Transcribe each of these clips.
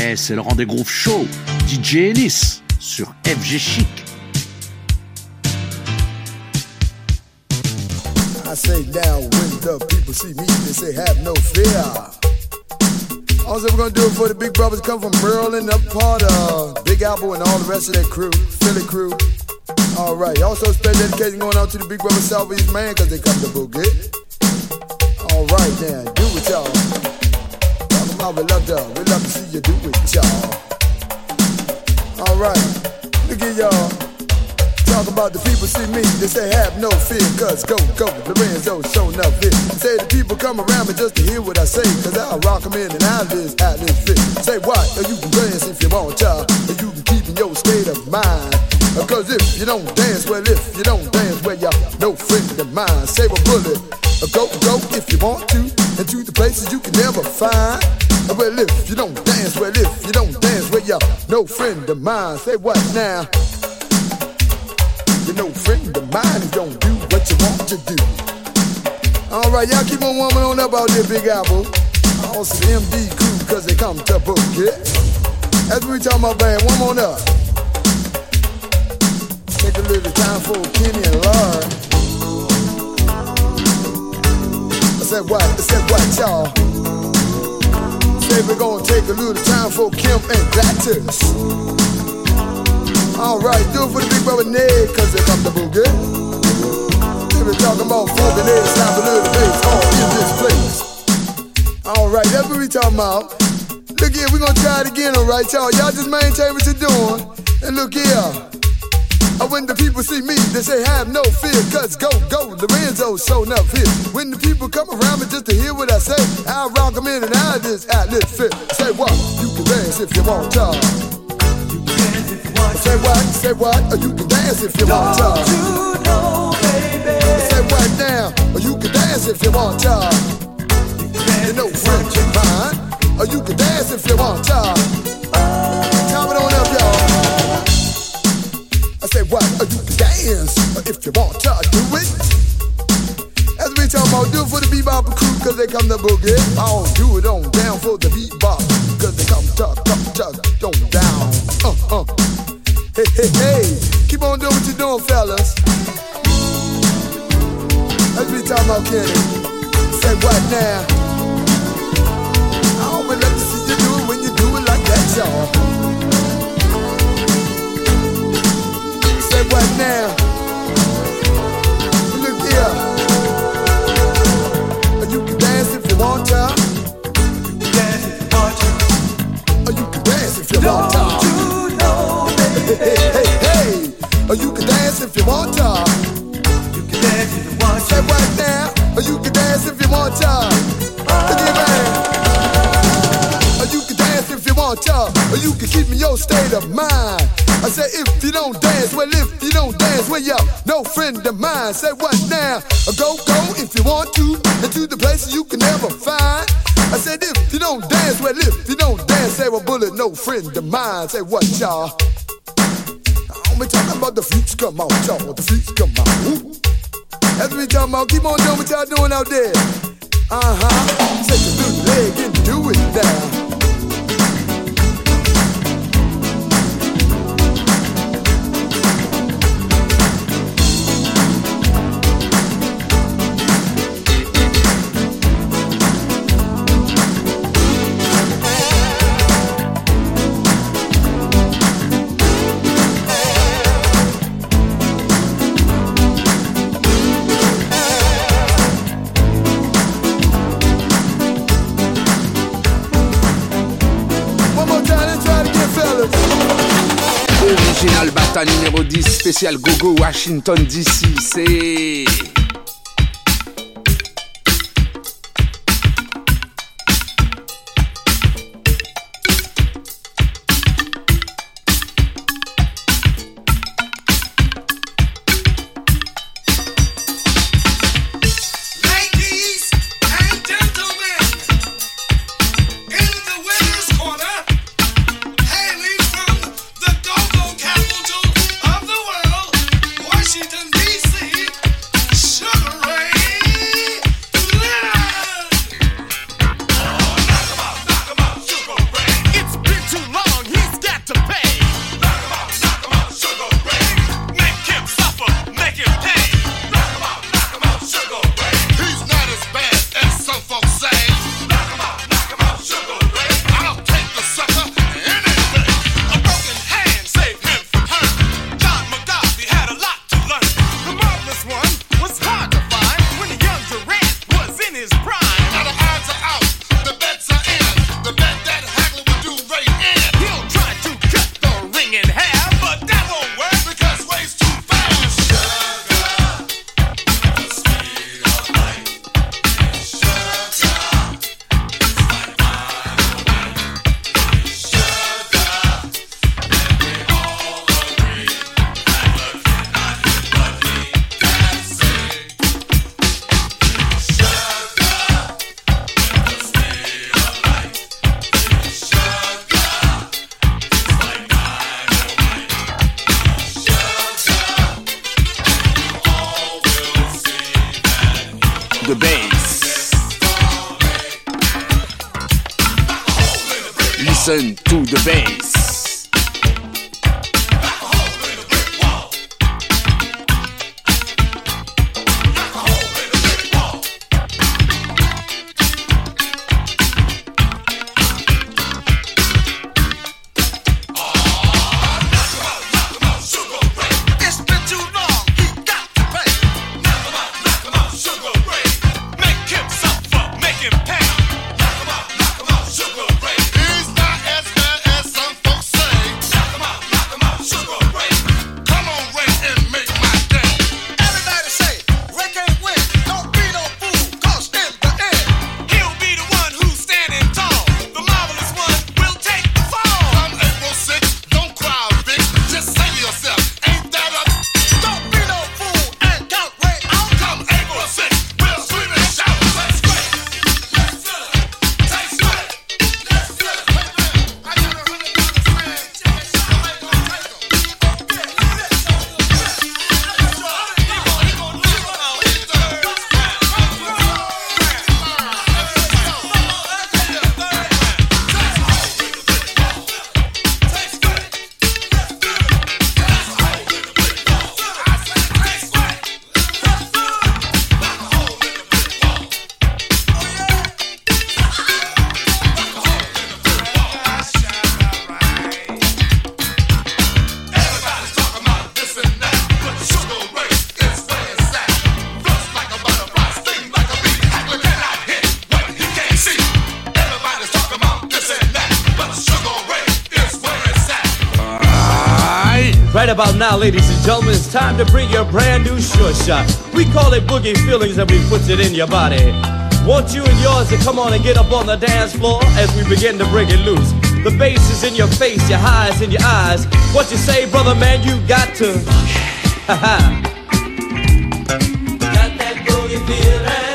Yeah, c'est le rendez-vous show. DJ Ennis sur FG Chic. I say now when the people see me, they say have no fear. Also, we're gonna do it for the big brothers come from Maryland, up part of Big Apple and all the rest of that crew, Philly crew. All right. Also, special dedication going out to the big brother Southeast man, cause they come to Boogie. All right, now do it, y'all. Talk about we love to see you do it, y'all. All right, look at y'all. Talk about the people see me, they say have no fear, cause go, Lorenzo show enough here. Say the people come around me just to hear what I say, cause I rock them in and out this fit. Say what, or you can dance if you want to, or you can keep in your state of mind. Cause if you don't dance, well if you don't dance, well you're no friend of mine. Save a bullet, go if you want to, and to the places you can never find. Well if you don't dance, well if you don't dance, well you're no friend of mine. Say what now? You're no friend of mine if you don't do what you want to do. Alright, y'all keep on warming on up out there, Big Apple. Also the MD crew, cause they come to book it. That's what we talking about, man. One more up. Take a little time for Kenny and Lord. I said what, y'all? Say we're gonna take a little time for Kim and Gladys. Alright, do it for the big brother Ned, cause they come to Boogie. They been talking about funk and Ned, slap a little bass all in this place. Alright, that's what we talking about. Look here, we gonna try it again, alright, y'all. Y'all just maintain what you're doing. And look here. When the people see me, they say have no fear, cause go, Lorenzo showing up here. When the people come around me just to hear what I say, I'll rock them in and out of this fit. Say what? You can dance if you want to. Say what? Or you can dance if you want to. Don't you know, baby? Say what now? Or you can dance if you want to. You know friend of mine. Or you can dance if you want to. Count it on up, y'all. I say what? Or you can dance if you want to do it. As we talking about, do it for the bebop crew, cause they come to Boogie. I don't do it on down for the bebop, cause they come on down. Hey, keep on doing what you're doing, fellas. As we talking about Kenny. Say what now? I always love to see you do it when you do it like that, y'all. Say what now? Look here. You can dance if you want to. You can dance if you want to. Or you can dance if you want to. Don't you know, baby? Hey. Or you can dance if you want to. You can dance if you want to. Say what now? Or you can dance if you want to. Look at man. Or you can dance if you want to. Or you can keep in your state of mind. I say if you don't dance, well if you don't dance, well you're no friend of mine. Say what now? Go if you want to, and to the places you can never find. I said if you don't dance, well if you don't dance, say well bullet, no friend of mine. Say what y'all? I'm talking about the freaks come out, y'all. The freaks come out. Woo. That's what we talking about. Keep on doing what y'all doing out there. Take a little leg and do it now. Original Bata numéro 10, spécial Gogo Washington DC, c'est... Washington, D.C. the bass. Listen to the bass. Right about now, ladies and gentlemen, it's time to bring you a brand new short shot. We call it Boogie Feelings and we put it in your body. Want you and yours to come on and get up on the dance floor as we begin to bring it loose. The bass is in your face, your highs in your eyes. What you say, brother man, you got to. Ha ha. Got that boogie feeling.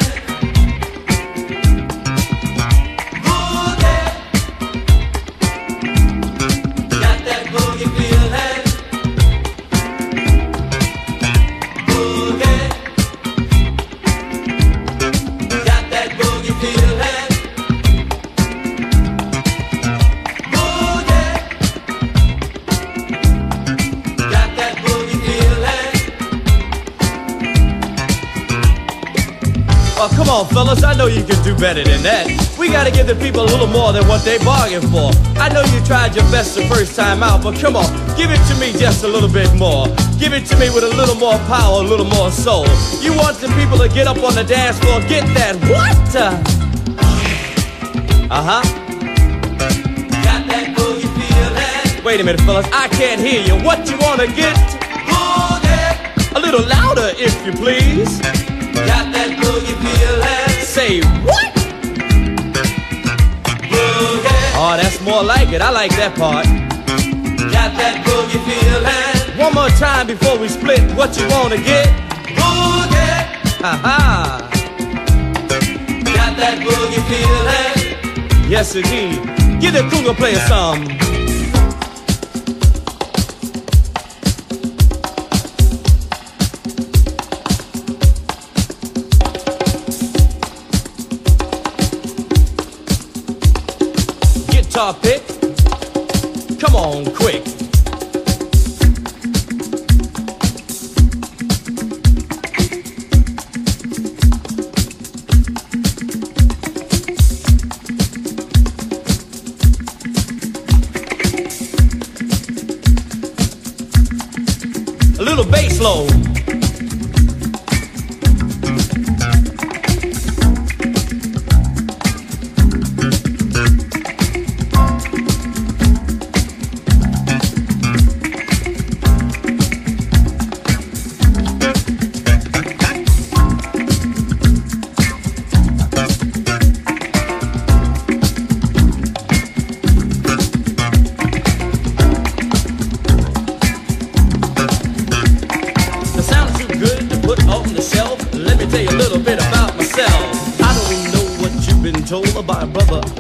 Boogie. Got that boogie feeling. Oh, come on, fellas, I know you can do better than that. We gotta give the people a little more than what they bargained for. I know you tried your best the first time out, but come on, give it to me just a little bit more. Give it to me with a little more power, a little more soul. You want the people to get up on the dance floor, get that what? Uh-huh. Got that boogie feeling. Wait a minute, fellas, I can't hear you. What you wanna get? Boogie. A little louder, if you please. Got that boogie feeling. Say what? Boogie. Oh, that's more like it. I like that part. Got that boogie feeling. One more time before we split. What you wanna get? Boogie. Ha-ha. Got that boogie feeling. Yes, indeed. Give the cougar player some. Guitar pick, come on quick. A little bass low. About my brother, that's the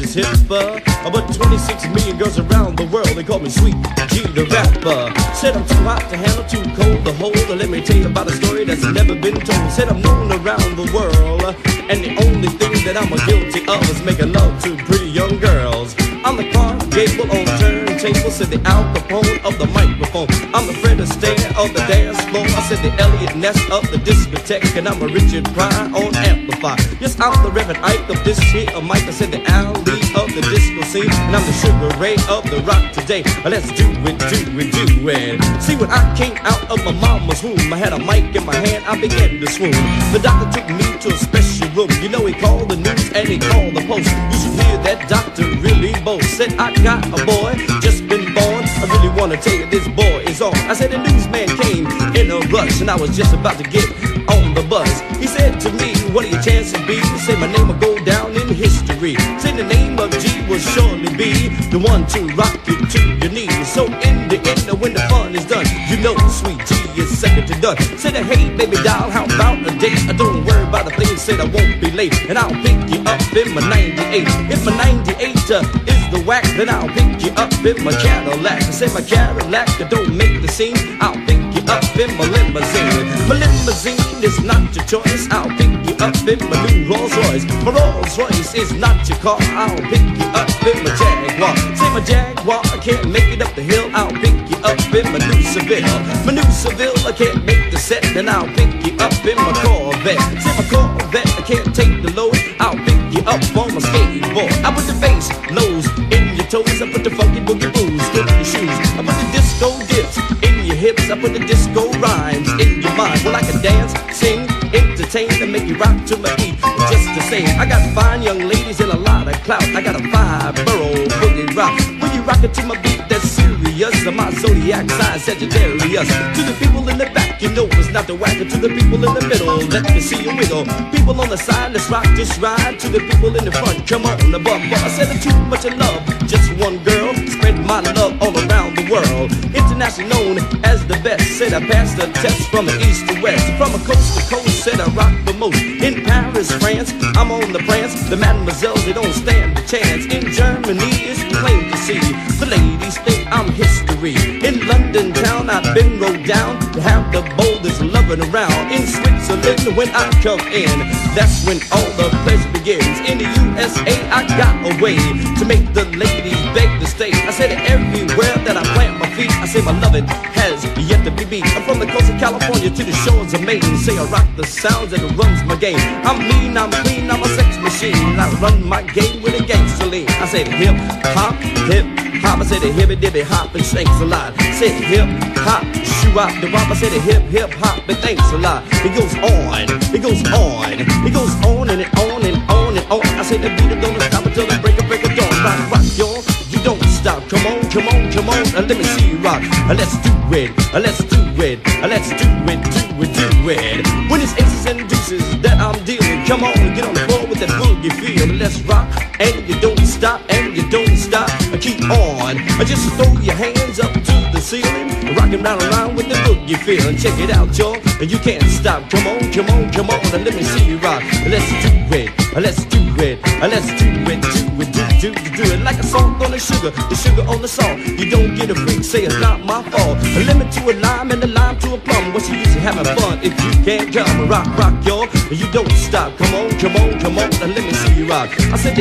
is hipper. But 26 million girls around the world, they call me Sweet G the rapper. Said I'm too hot to handle, too cold to hold. Let me tell you about a story that's never been told. Said I'm known around the world, and the only thing that I'm guilty of is making love to pretty young girls. I'm the Clark Gable on turntable, said the Al Capone of the microphone. I'm the Fred Astaire of the dance floor. I said the Elliot Ness of the discotheque, and I'm a Richard Pryor on amplifier. Yes, I'm the Reverend Ike of this here mic. I said the Ali of the disco scene, and I'm the Sugar Ray of the rock today. Let's do it, do it, do it. See, when I came out of my mama's womb, I had a mic in my hand, I began to swoon. The doctor took me to a special room. You know, he called the news and he called the post. You should hear that doctor really boast. Said I got a boy, just been born. I really wanna tell you this boy is on. I said the newsman came in a rush, and I was just about to get on the bus. He said to me, what are your chances be? He said my name will go down in history. Said the name of G will surely be the one to rock you to your knees. So in the end, when the fun is done, you know Sweet G is second to none. Said hey baby doll, how about a date? Don't worry about a thing, said I won't be late, and I'll pick you up in my 98. If my 98 is the whack, then I'll pick you up in my Cadillac. I said my Cadillac don't make the scene, I'll pick you up in my limousine. My limousine is not your choice, I'll pick you up in my new Rolls Royce. My Rolls Royce is not your car, I'll pick you up in my Jaguar. Say my Jaguar, I can't make it up the hill, I'll pick you up in my new Seville. My new Seville, I can't make the set, then I'll pick you up in my Corvette. Say my Corvette, I can't take the load, I'll pick you up on my skateboard. I put the bass lows in your toes, I put the funky boogie booze in your shoes, I put the disco dips in your hips, I put the disco rhymes in your mind. Well, I can dance, sing, entertain, and make you rock to my beat just the same. I got fine young ladies and a lot of clout, I got a 5-borough boogie rock. When you rock it to my beat, that's serious. My zodiac sign Sagittarius. To the people in the back, you know it's not the whacker. To the people in the middle, let me see you wiggle. People on the side, let's rock this ride. To the people in the front, come on the bumper. I said too much of love, just one girl. Spread my love all around the world. Internationally known as the best. Said I passed the test from the east to west. From a coast to coast, said I rock the most. In Paris, France, I'm on the prance. The mademoiselles, they don't stand a chance. In Germany, it's plain to see. The ladies think I'm history. In London town, I've been rode down to have the boldest loving around. In Switzerland, when I come in, that's when all the pleasure begins. In the USA, I got a way to make the ladies beg to stay. I said everywhere that I plant my feet, I say my loving has yet to be beat. I'm from the coast of California to the shores of Maine. Say I rock the sounds and it runs my game. I'm mean, I'm clean, I'm a sex machine. I run my game with a gangster lean. I said hip hop, hip hop. I said the hippy dippy hop and thanks a lot. Said hip hop, shoe out the wop. I said the hip hop and thanks a lot. It goes on, it goes on, it goes on and it on and on and on. I said the beat it don't stop until the break of dawn. Rock, rock, y'all, you don't stop. Come on, come on, come on, let me see you rock. Let's do it, let's do it, let's do it, do it, do it. When it's aces and deuces that I'm dealing, come on, get on the floor with that boogie feel. Let's rock, and you don't stop, and you don't stop. Keep on, just throw your hands up to the ceiling, rocking round and round with the boogie feel. Check it out, y'all, and you can't stop. Come on, come on, come on, and let me see you rock. Let's do it, let's do it, let's do it, do it, do it. Like a salt on the sugar on the salt. You don't get a freak, say it's not my fault. A lemon to a lime and a lime to a plum. What's the use of having fun if you can't come? Rock, rock, y'all, and you don't stop. Come on, come on, come on, and let me see you rock. I said the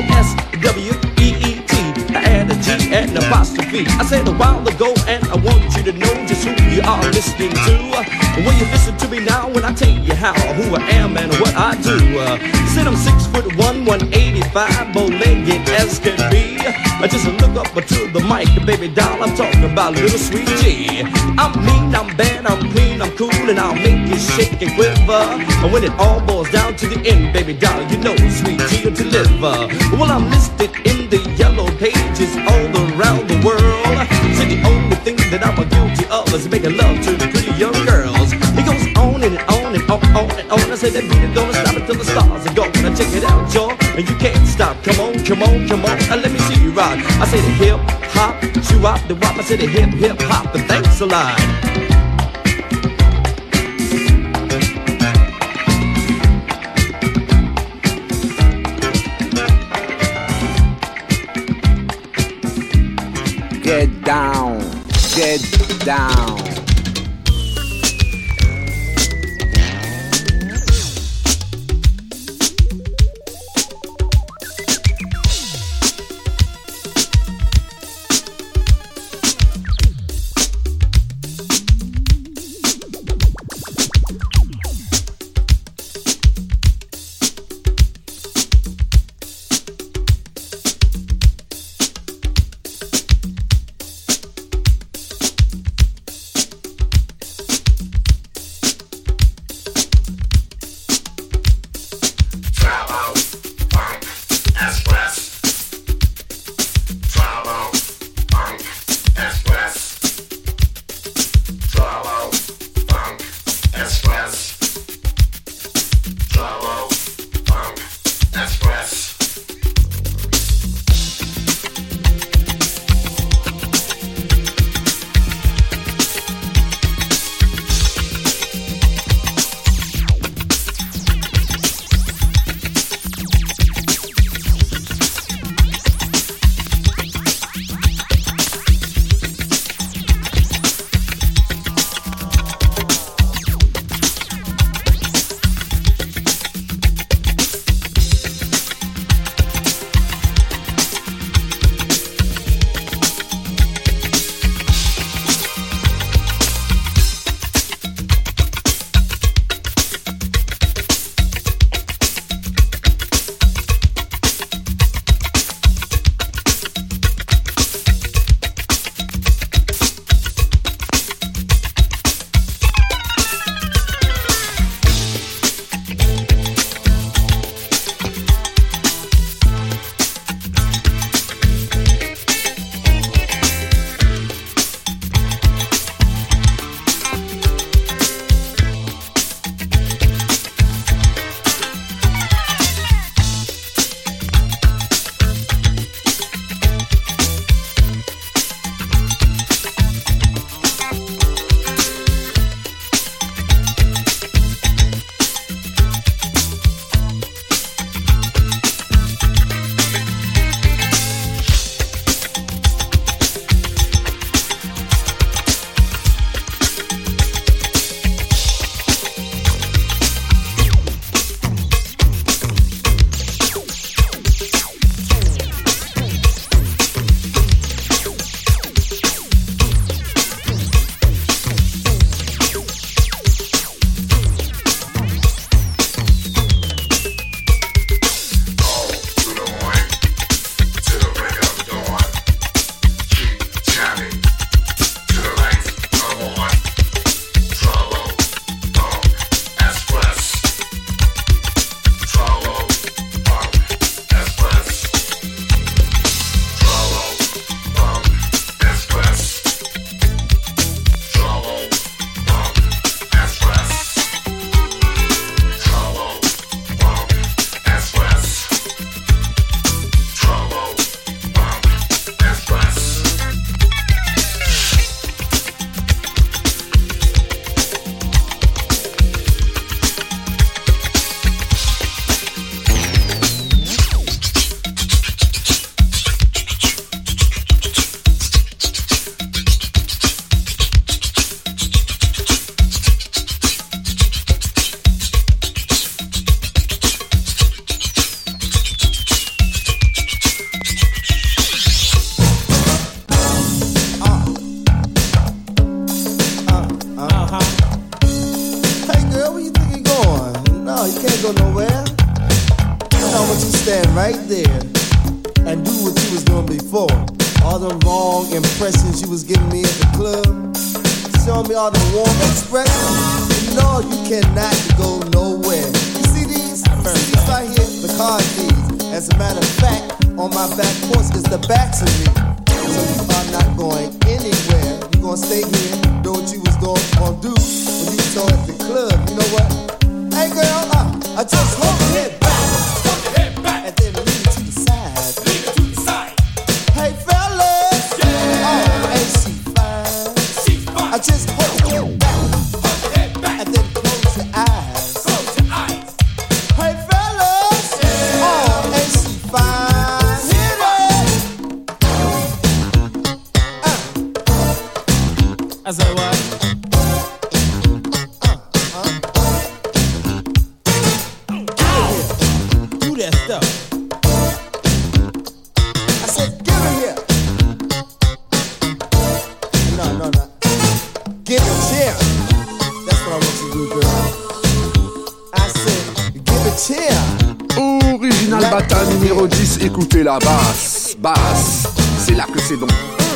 S-W-E-E-T, I add a G and an apostrophe. I said a while ago, and I want you to know just who you are listening to. When you listen to me now, when I tell you how, who I am and what I do. Said I'm 6'1", 185, bow-legged as can be. I just look up to the mic, baby doll, I'm talking about little Sweet G. I'm mean, I'm bad, I'm clean, I'm cool, and I'll make you shake and quiver. And when it all boils down to the end, baby doll, you know Sweet G will deliver. Well, I'm listed in the yellow pages all around the world. So the only thing that I'm guilty of is making love to the pretty young girls. It goes on and on and on and on. I say that beat it don't stop until the stars are gone. Now check it out, y'all, and you can't stop. Come on, come on, come on, and let me see you rock. I say the hip hop, shoe out the wop. I say the hip hop, and thanks a lot. down. As a good girl. I said, give it here. Original Bata numéro 10, écoutez la basse. Basse, c'est là que c'est donc.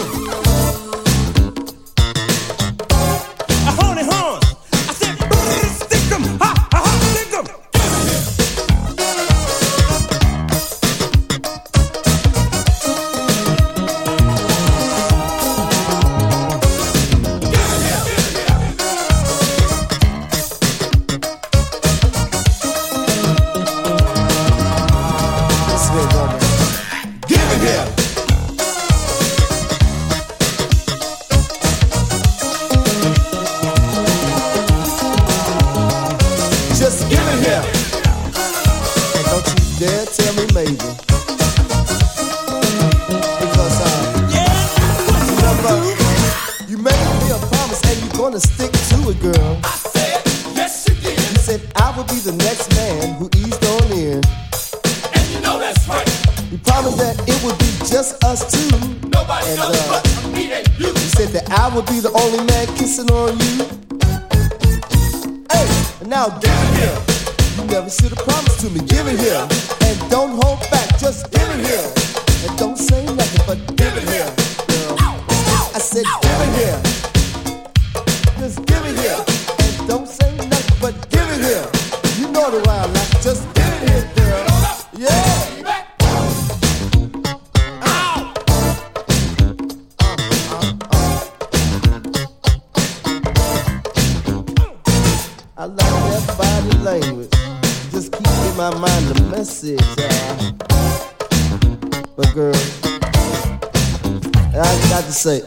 Say,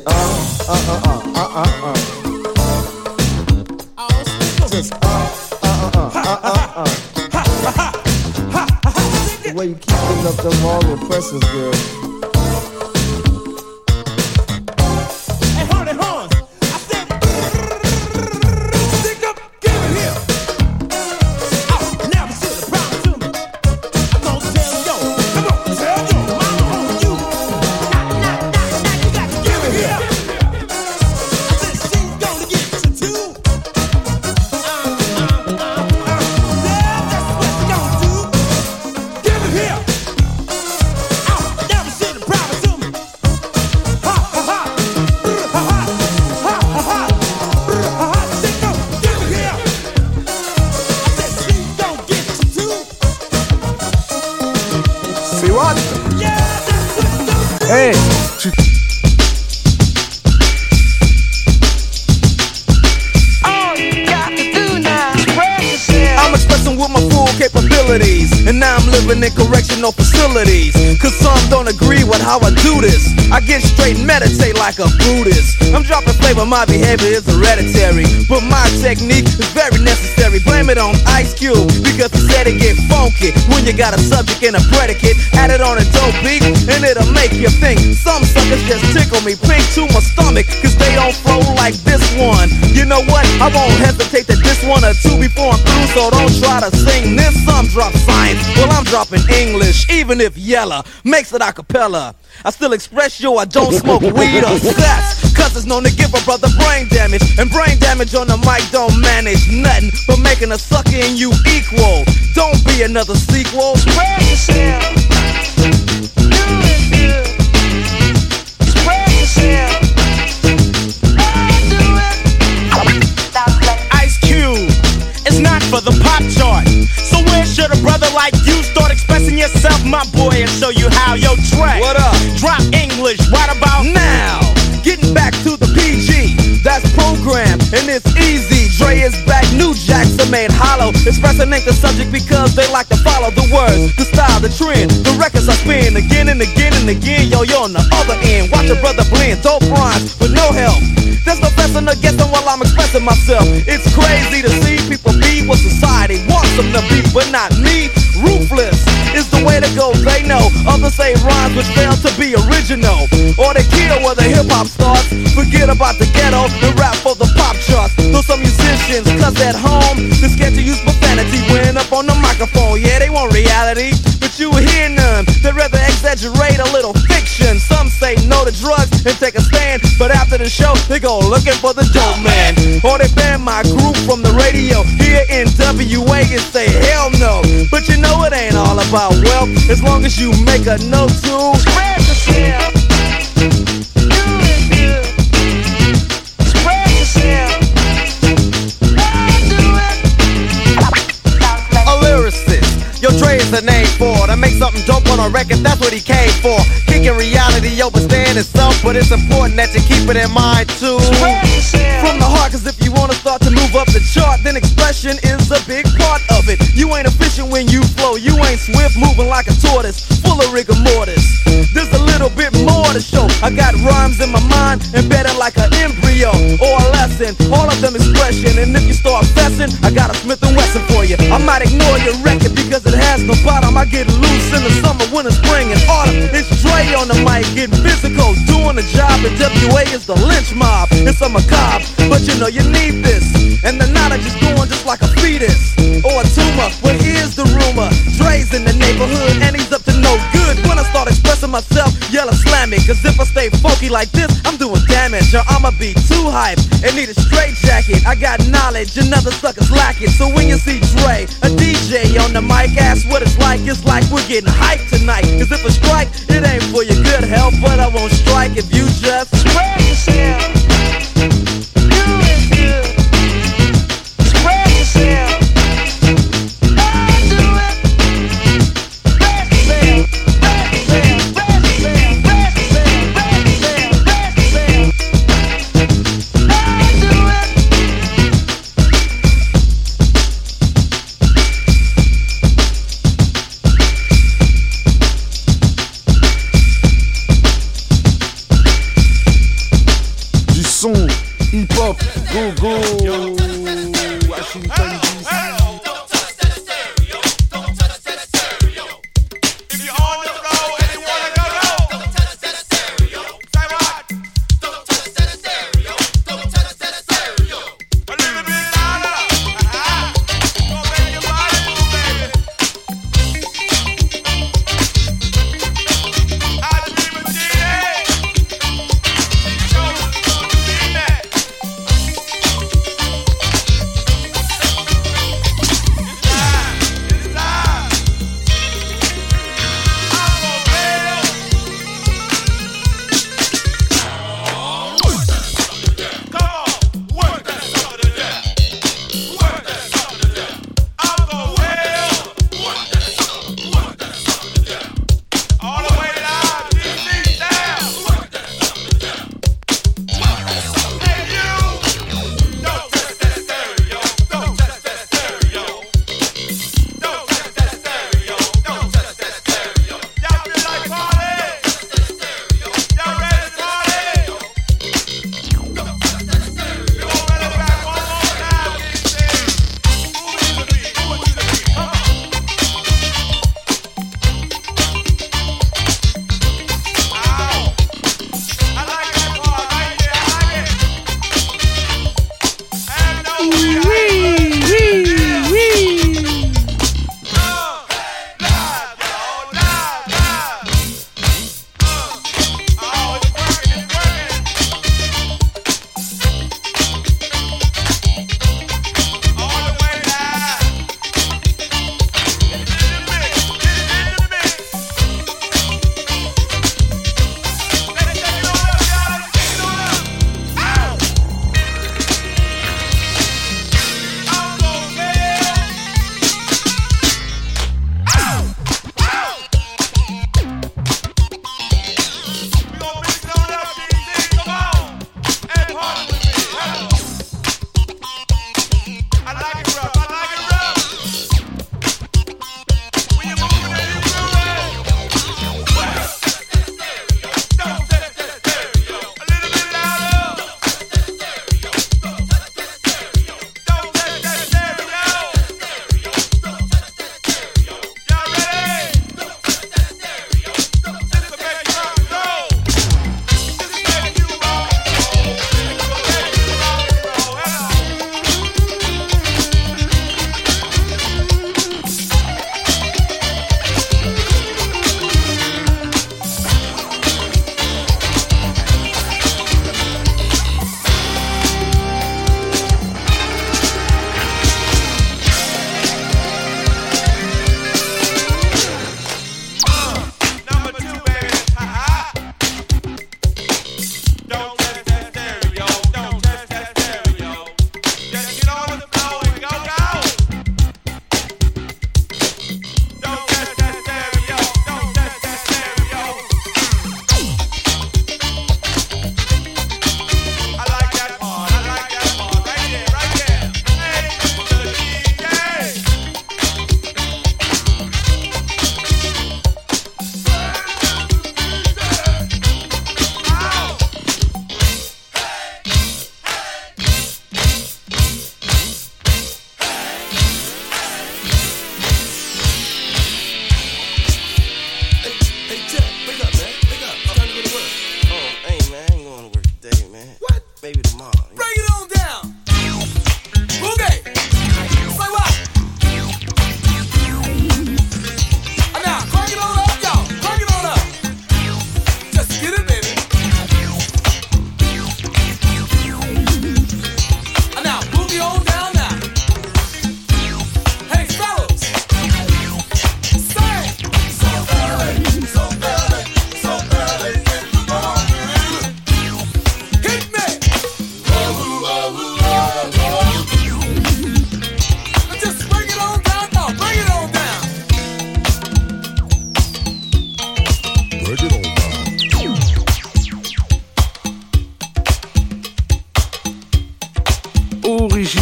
just the way you keep putting up them long impressions, girl. Correctional facilities, cause some don't agree with how I do this. I get straight and meditate like a Buddhist. I'm dropping flavor, my behavior is hereditary, but my technique is very necessary. Blame it on Ice Cube, because he said it get funky when you got a subject and a predicate. Add it on a dope beat, and it'll make you think. Some suckers just tickle me pink to my stomach, cause they don't flow like this one. You know what? I won't hesitate to diss one or two before I'm through, so don't try to sing this. Some drop science, well I'm dropping English, even if Yella makes it a cappella. I still express yo, I don't smoke weed or sex, cause it's known to give a brother brain damage, and brain damage on the mic don't manage nothing but making a sucker and you equal. Don't be another sequel. Spread yourself. Do it good. Spread yourself. Do it. Ice Cube. It's not for the pop chart. So where should a brother like you start expressing yourself, my boy, and show you how? Yo, Trey, what up? Drop English right about now. Getting back to the PG, that's programmed and it's easy. Dre is back, new jacks are made hollow. Expressing ain't the subject because they like to follow the words, the style, the trend. The records I spin again and again and again. Yo, you're on the other end. Watch a brother blend, dope rhymes with no help. There's no blessing or guessing while I'm expressing myself. It's crazy to see people be what society wants them to be, but not me. Ruthless is the way to go, they know. Others say rhymes which fail to be original, or they kill where the hip-hop starts. Forget about the ghetto and rap for the pop charts. Though some musicians, cause at home they're scared to use profanity when up on the microphone. Yeah, they want reality, but you hear none. They'd rather exaggerate exaggerate a little fiction. Some say no to drugs and take a stand, but after the show, they go looking for the dope man. Or they ban my group from the radio here in WA and say hell no. But you know it ain't all about wealth, as long as you make a note to spread yourself. Yo, Dre is the name for to make something dope on a record, that's what he came for. Kicking reality over staying itself, but it's important that you keep it in mind too. From the heart, cause if you wanna start to move up the chart, then expression is a big part of it. You ain't efficient when you flow, you ain't swift, moving like a tortoise, full of rigor mortis. There's a little bit more to show. I got rhymes in my mind, embedded like an embryo or a lesson, all of them expression. And if you start fessing, I got a Smith & Wesson for you. I might ignore your record because it has no bottom. I get loose in the summer, winter, spring, and autumn. It's Dre on the mic, getting physical, doing the job. And WA is the lynch mob. It's a macabre, but you know you need this. And the knowledge is going just like a fetus or a tumor. But here's the rumor: Dre's in the neighborhood and he's up to no good. When I start expressing myself, yell or slam me. Cause if I stay funky like this, I'm doing damage. Or I'ma be too hyped and need a straight jacket. I got knowledge and other suckers lack it. So when you see Dre, a DJ on the mic, ask what it's like we're getting hyped tonight. Cause if I strike, it ain't for your good health, but I won't strike if you just spread yourself. You is good. Spread yourself.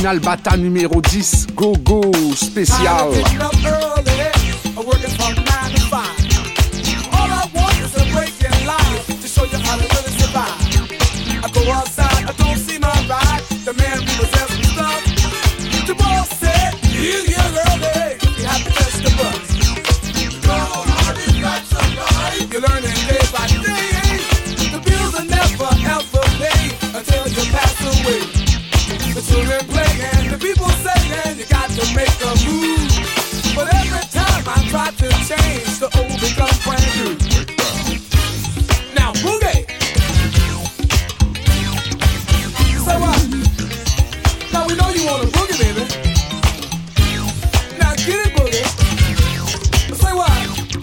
Original Bata numéro 10, Go Go spécial. You're learning day by day. The bills are never ever paid until you pass away. The children play and the people say you got to make a move. But every time I try to change, the old becomes brand new. Now boogie. So what? Now we know you want a boogie, baby. Now get it, boogie. Say what?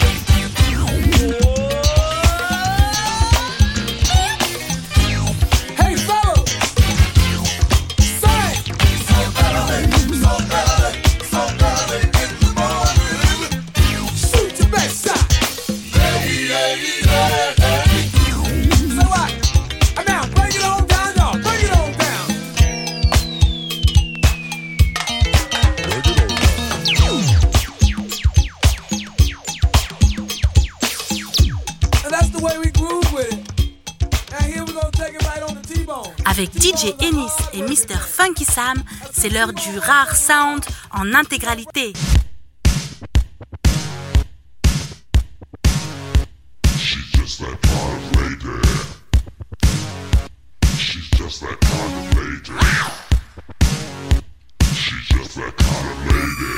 Avec DJ Ennis et Mr. Funky Sam, c'est l'heure du rare sound en intégralité. She's just that kind of lady. She's just that kind of lady. She's just that kind of lady.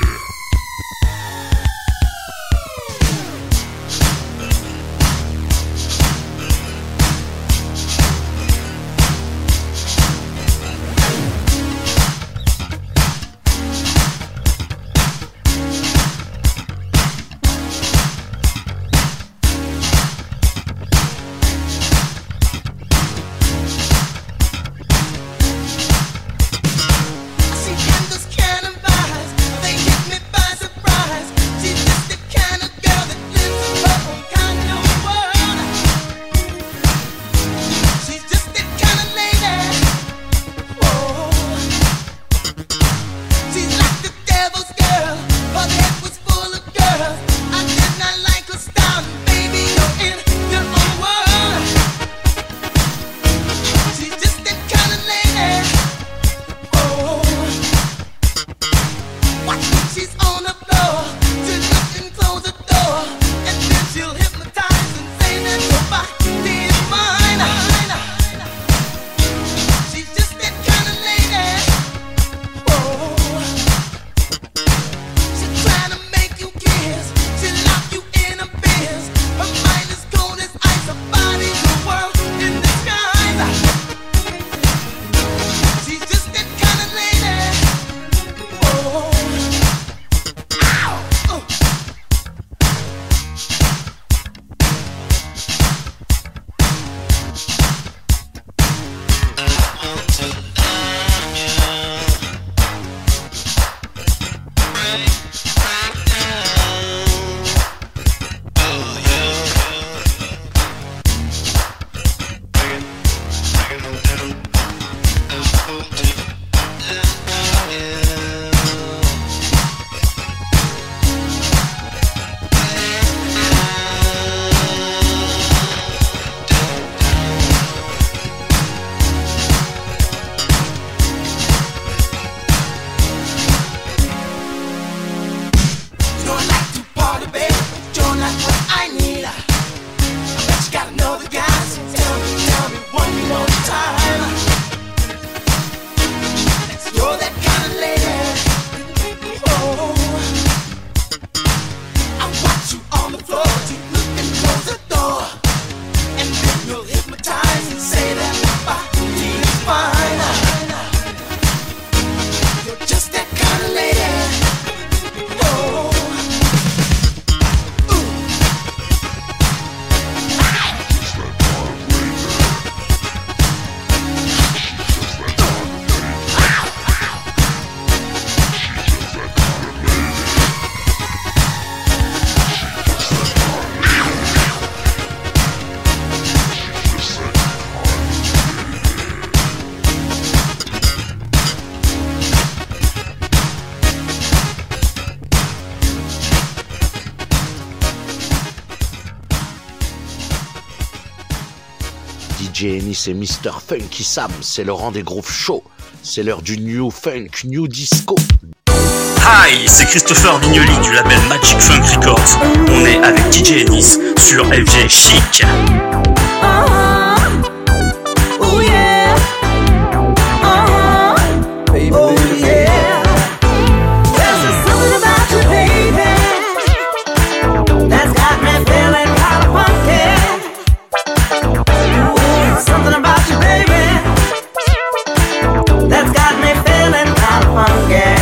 DJ Ennis et Mr. Funky Sam, c'est le rang des grooves chauds. C'est l'heure du New Funk, New Disco. Hi, c'est Christopher Vignoli du label Magic Funk Records. On est avec DJ Ennis sur FG Chic. Oh yeah. Baby, oh yeah. There's just something about you, baby, that's got me feeling kind of funky. Ooh, something about you, baby, that's got me feeling kind of funky.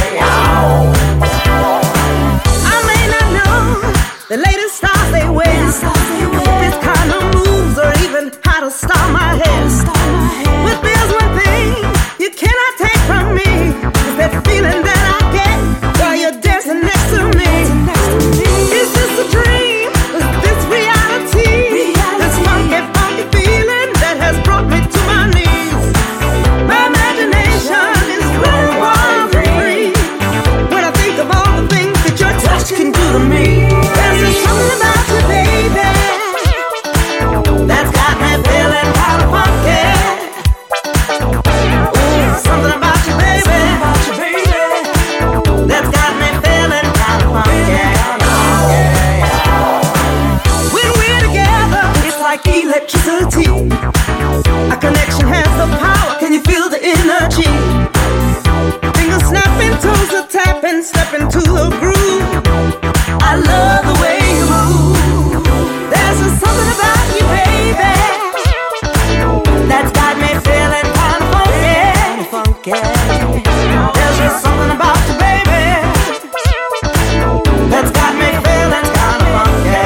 I may not know the latest styles they wear, this kind of moves or even how to style my hair. But there's one thing you cannot take from me, is that feeling that I get while you're dancing next to me. Is this a dream? Is this reality? This funky, funky feeling that has brought me to my knees. My imagination is running wild and free when I think of all the things that your touch can do to me. There's just something about you, baby, that's got me feeling kind of funky. Ooh, something about you, baby, that's got me feeling kind of funky. When we're together, it's like electricity. Our connection has the power. Can you feel the energy? Fingers snapping, toes are tapping, step into the groove. I love the way you move. There's just something about you, baby, that's got me feeling kind of funky. There's just something about you, baby, that's got me feeling kind of funky.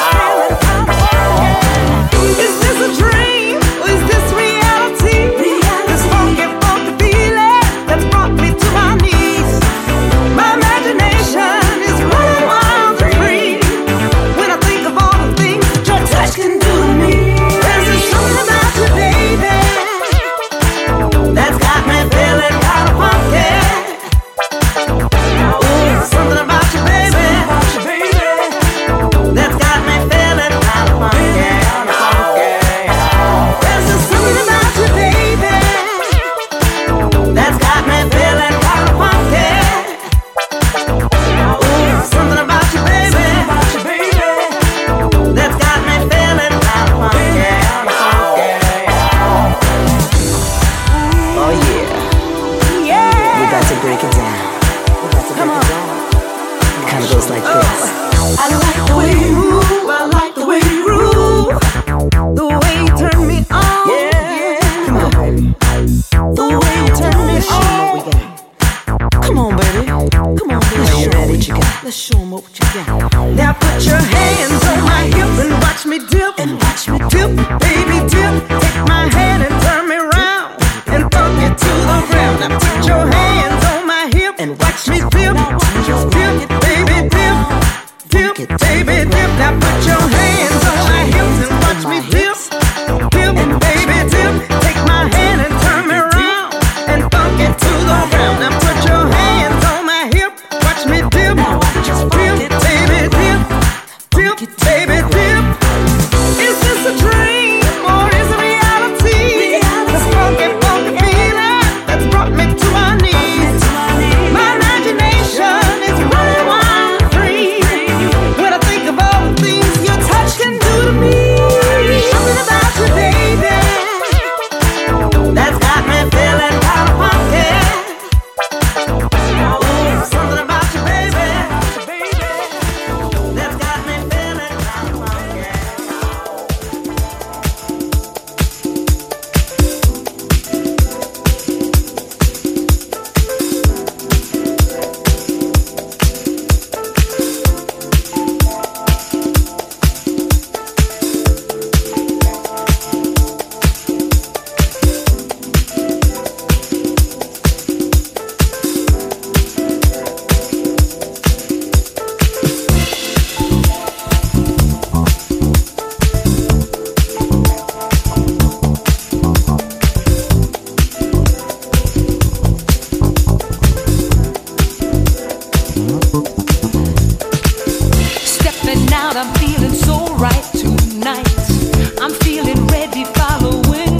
Is this a dream or is this reality? This funky, funky feeling that's brought me to my knees. My imagination is running wild and free when I think of all the things that your touch can do to me. There's just something about you, baby, that's got me feeling kind of funky. Ooh, something about you, baby, that's got me feeling kind of funky. There's just something about you, baby, that's got me feeling kind of funky. Ooh, something about you, baby, that's got me feeling kind of funky. Oh yeah, we got to break it down. Come on. It kind of goes like this. I like the way you move, I like the way you groove, the way you turn me on. Yeah, Come on, baby. the way you turn me Let's show 'em what we on. got. Come on, baby. Come on, baby. Let's show 'em what you got. Let's show 'em what you got. Now put your hands on my hip and watch me dip. Dip, baby, dip. Take my hand and turn me round and funk it to the ground. Now put your hands on my hip and watch me dip. Dip, baby, dip. Dip, baby, dip. Now put your hands on my hips and watch me dip. Dip, baby, dip. Take my hand and turn me round and funk it to the ground. Now put your hands on my hip, watch me dip. Dip, baby, dip. Dip, baby, dip. Is this a dream or is it reality? This funky, funky feeling that's brought me to my knees. My imagination is running wild and free when I think of all the things your touch can do to me. Something about you, baby, that's got me feeling kind of funky. Ooh, something about you, baby, that's got me feeling kind of funky. Stepping out, I'm feeling so right tonight. I'm feeling ready, following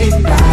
it right.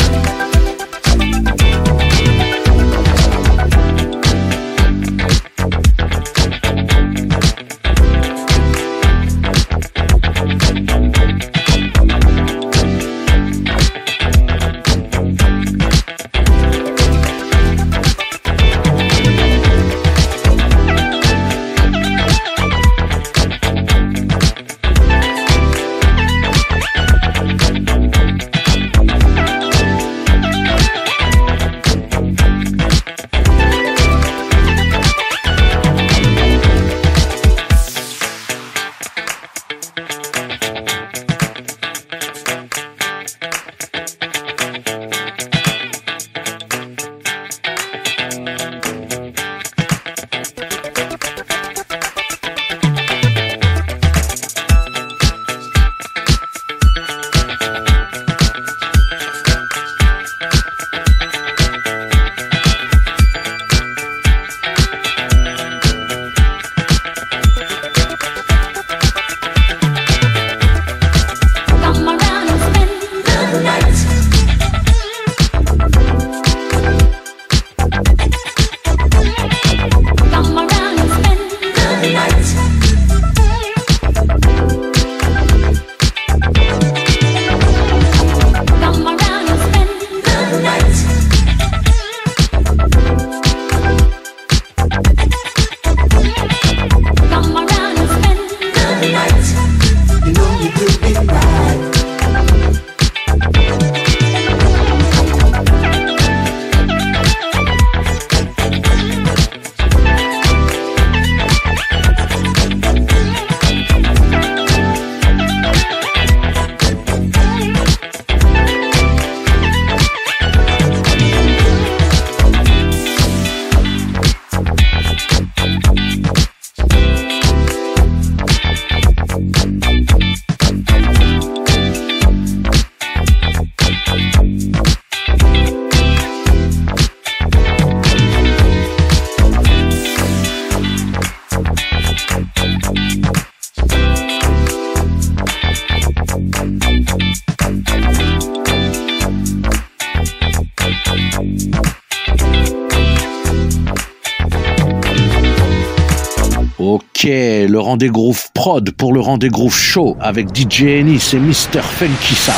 Ok, le rendez-vous prod pour le rendez-vous show avec DJ Ennis et Mr. Funky Sam.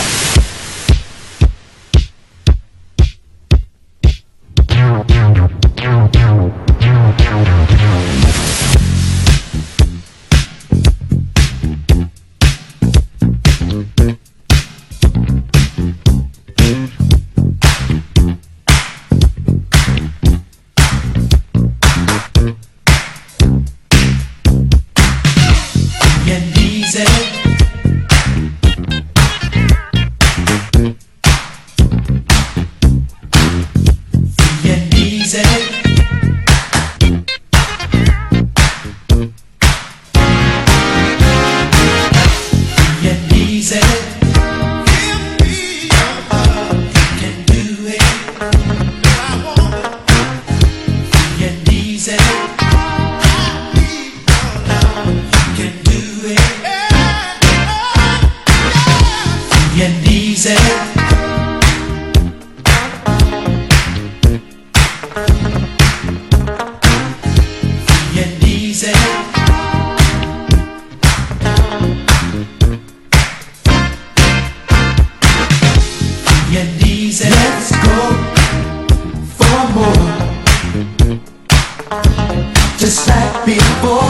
Let's go for more, just like before.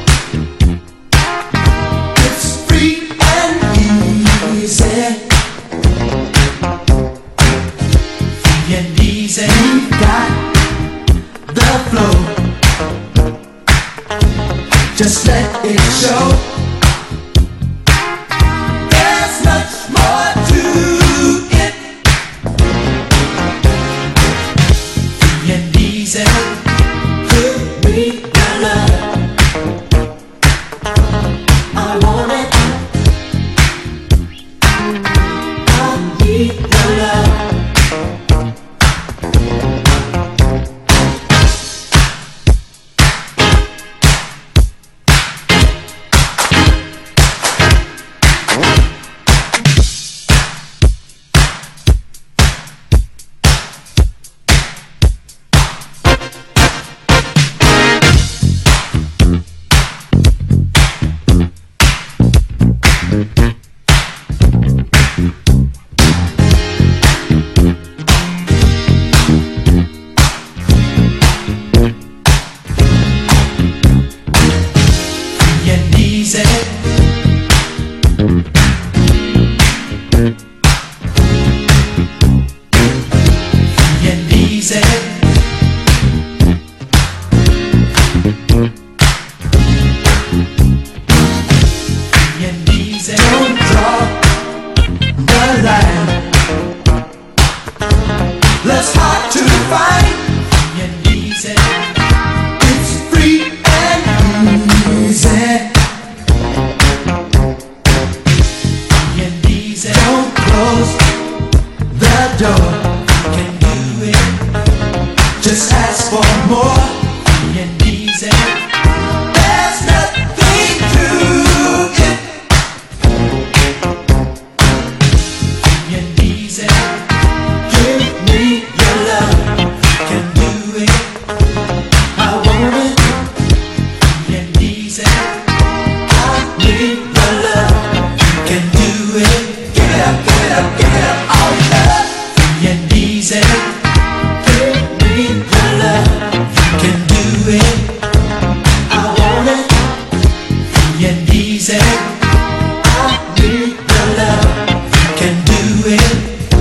It's free and easy, free and easy. We've got the flow, just let it show. There's much more to it. Free and easy, could be your love. Don't close the door. You can do it. Just ask for more. Free and easy. There's nothing to it. Free and easy. Give me your love. You can do it. I want it. Free and easy. I need your love. You can do it. Give it up, give it up, give it up. All your love. Free and easy. Give me your love. You can do it. I want it. Free and easy. I need your love. You can do it.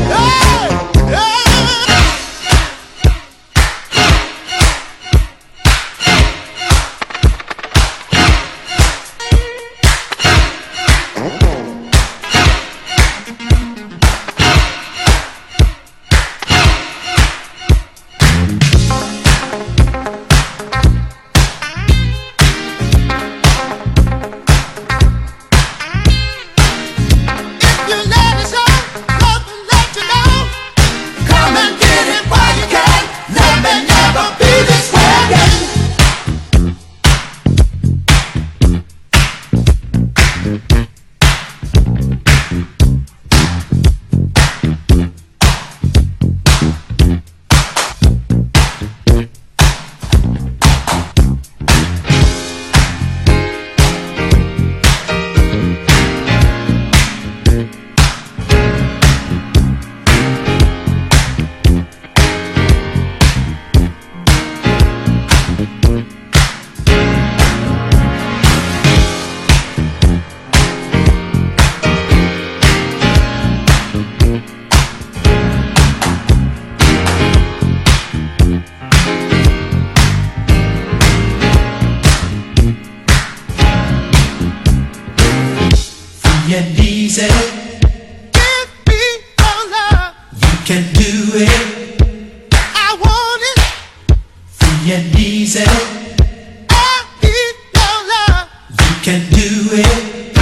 Free and easy. Give me your love. You can do it. I want it. Free and easy. I need your love. You can do it.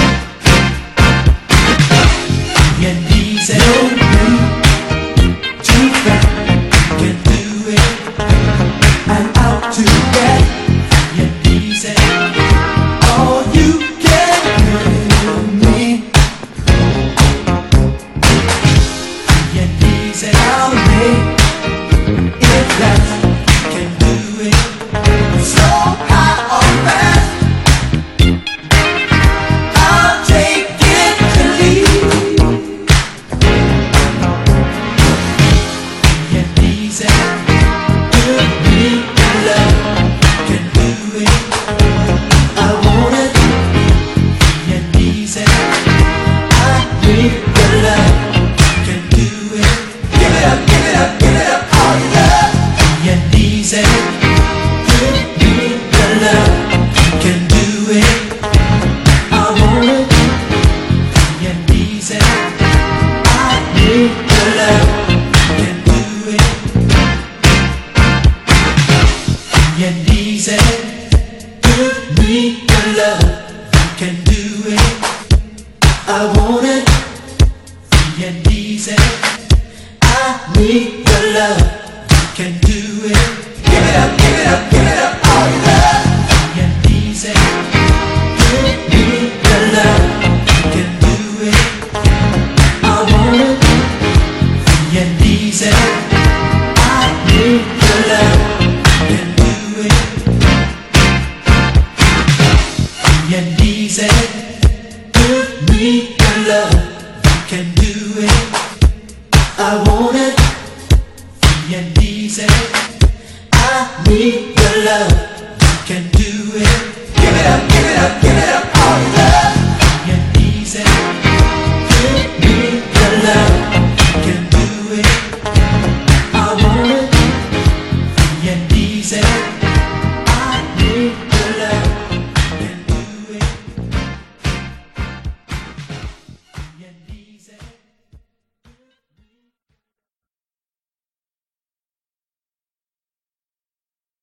Free and easy. No need to fret. You can do it. And out to get. Free and easy. All you can give me. Free and easy. I'll make it last. You can do it. Slow, high or fast. I'll take it to leave. Free and easy. Give me your love. You can do it. I want it. Free and easy. I need your love. You can do it. Give it up, give it up, give it up. All your love. Free and easy. Give me your love. You can do it. I want it. Free and easy. I need your love. You can do it. Free and easy. Give me your love. You can do it. I want it. Free and easy. I need your love. You can do it. Give it up, give it up, give it up. All your love. Free and easy. Give me your love. You can do it. I want it. Free and easy. I need your love. You can do it. Free and easy. Give me your love. You can do it. I want it. Free and easy. I need your love.